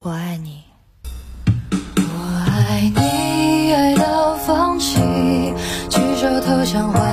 我爱你，我爱你，爱到放弃，举手投降。